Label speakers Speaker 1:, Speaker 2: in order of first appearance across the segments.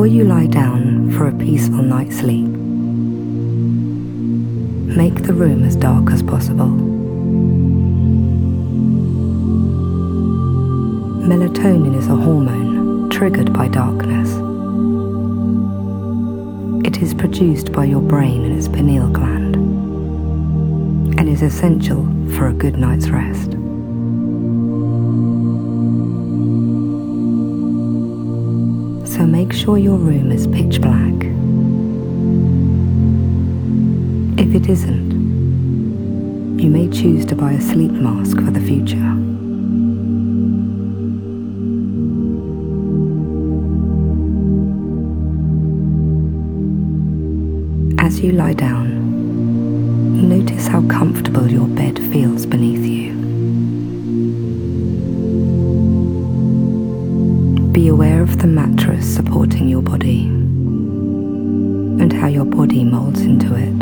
Speaker 1: Before you lie down for a peaceful night's sleep, make the room as dark as possible. Melatonin is a hormone triggered by darkness. It is produced by your brain and its pineal gland, and is essential for a good night's rest. So make sure your room is pitch black. If it isn't, you may choose to buy a sleep mask for the future. As you lie down, notice how comfortable your bed feels beneath you. Be aware of the mattress supporting your body and how your body molds into it.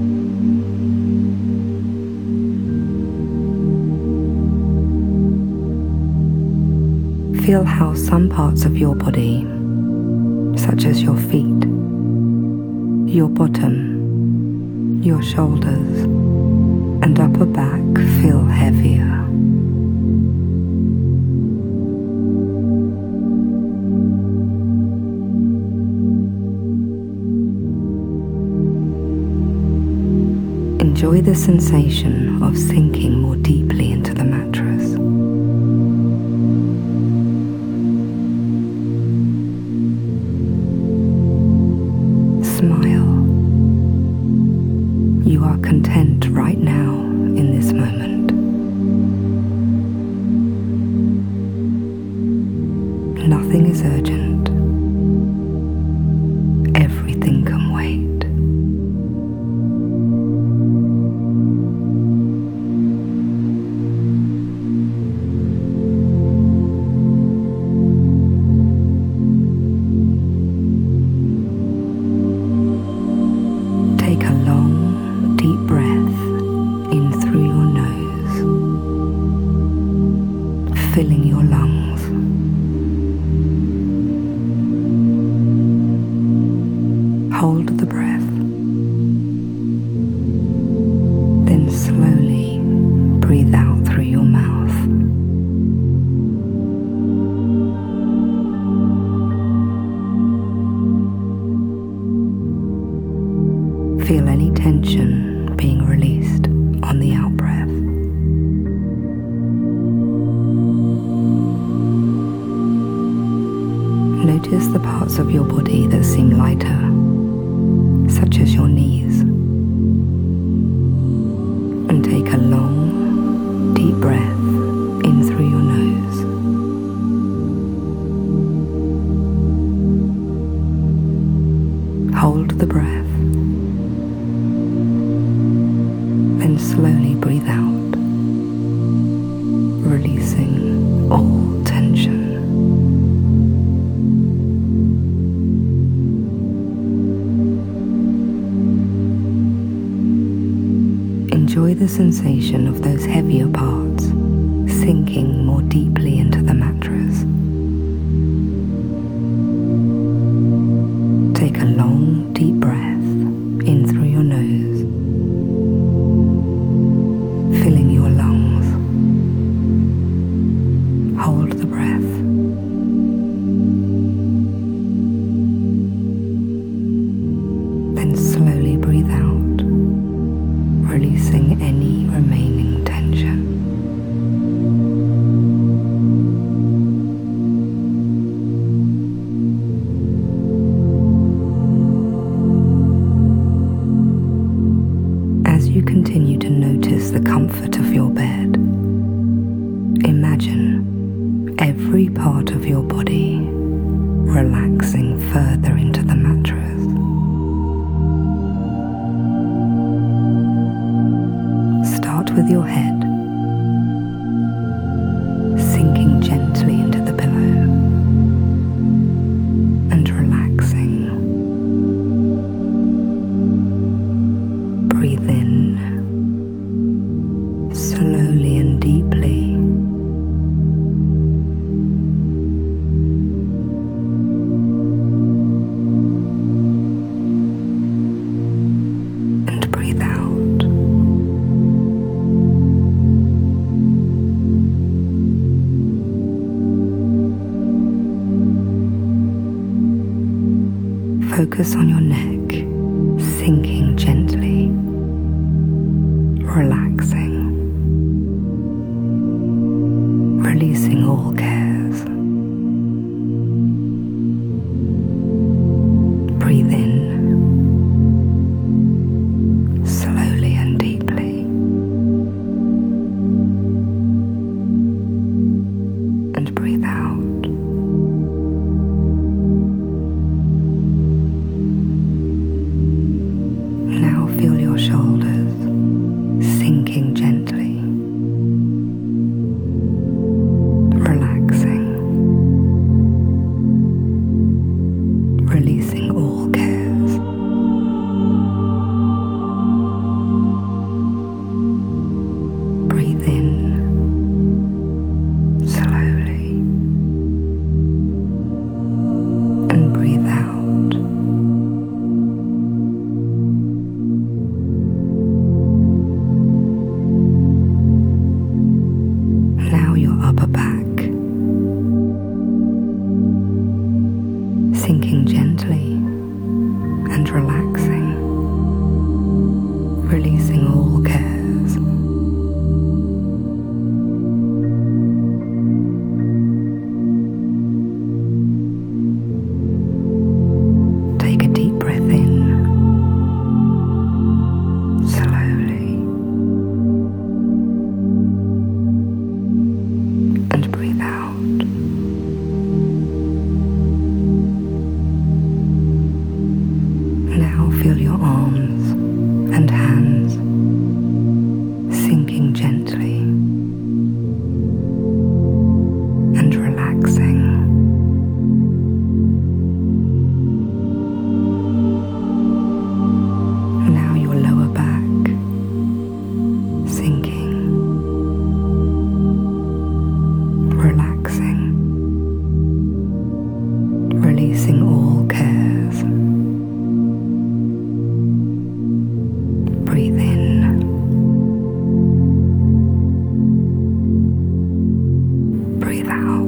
Speaker 1: Feel how some parts of your body, such as your feet, your bottom, your shoulders, and upper back feel heavier. Enjoy the sensation of sinking more deeply into the mattress. Smile. You are content right now in this moment. Nothing is urgent. Everything can wait. Take a long, deep breath in through your nose, filling your lungs. Hold the breath, then slowly breathe out through your mouth. Feel any tension being released on the out-breath. Notice the parts of your body that seem lighter, such as your knees. And take a long, deep breath in through your nose. Hold the breath. Then slowly breathe out, releasing all tension. Enjoy the sensation of those heavier parts sinking more deeply into the mattress. Take a long, deep breath in through your nose, filling your lungs. Hold the breath. Then slowly breathe out, releasing any remaining tension. As you continue to notice the comfort of your bed, imagine every part of your body relaxing further into the mattress. Start with your head, sinking gently into the pillow and relaxing. Breathe in slowly and deeply. Focus on your neck, sinking gently, relaxing, releasing all cares. Breathe in, slowly and deeply, and breathe out. Now feel your shoulders sinking gently, relaxing, releasing all cares. Breathe in slowly and breathe out. Now your upper back, sinking gently and relaxing, releasing all cares. Take a deep breath in, slowly, and breathe out. Now feel your arms and hands sinking gently and relaxing. Now your lower back sinking, relaxing, releasing all cares. Breathe in, breathe out.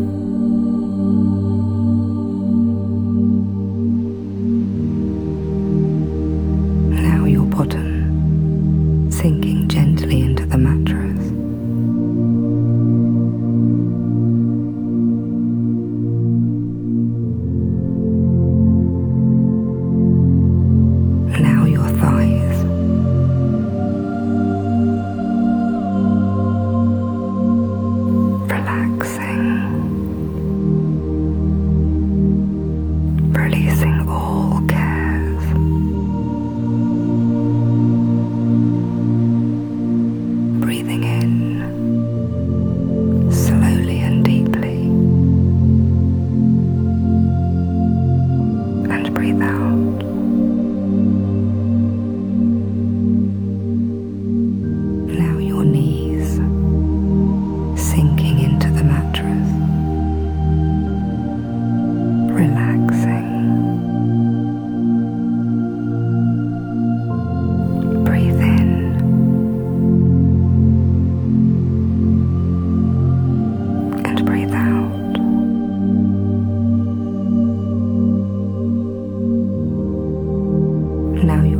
Speaker 1: Now your bottom sinking gently into the mattress. Now your thighs, relaxing, releasing all cares. Breathing in slowly and deeply, and breathe out. Now your knees sinking into the mattress, relaxing. Breathe in and breathe out. Now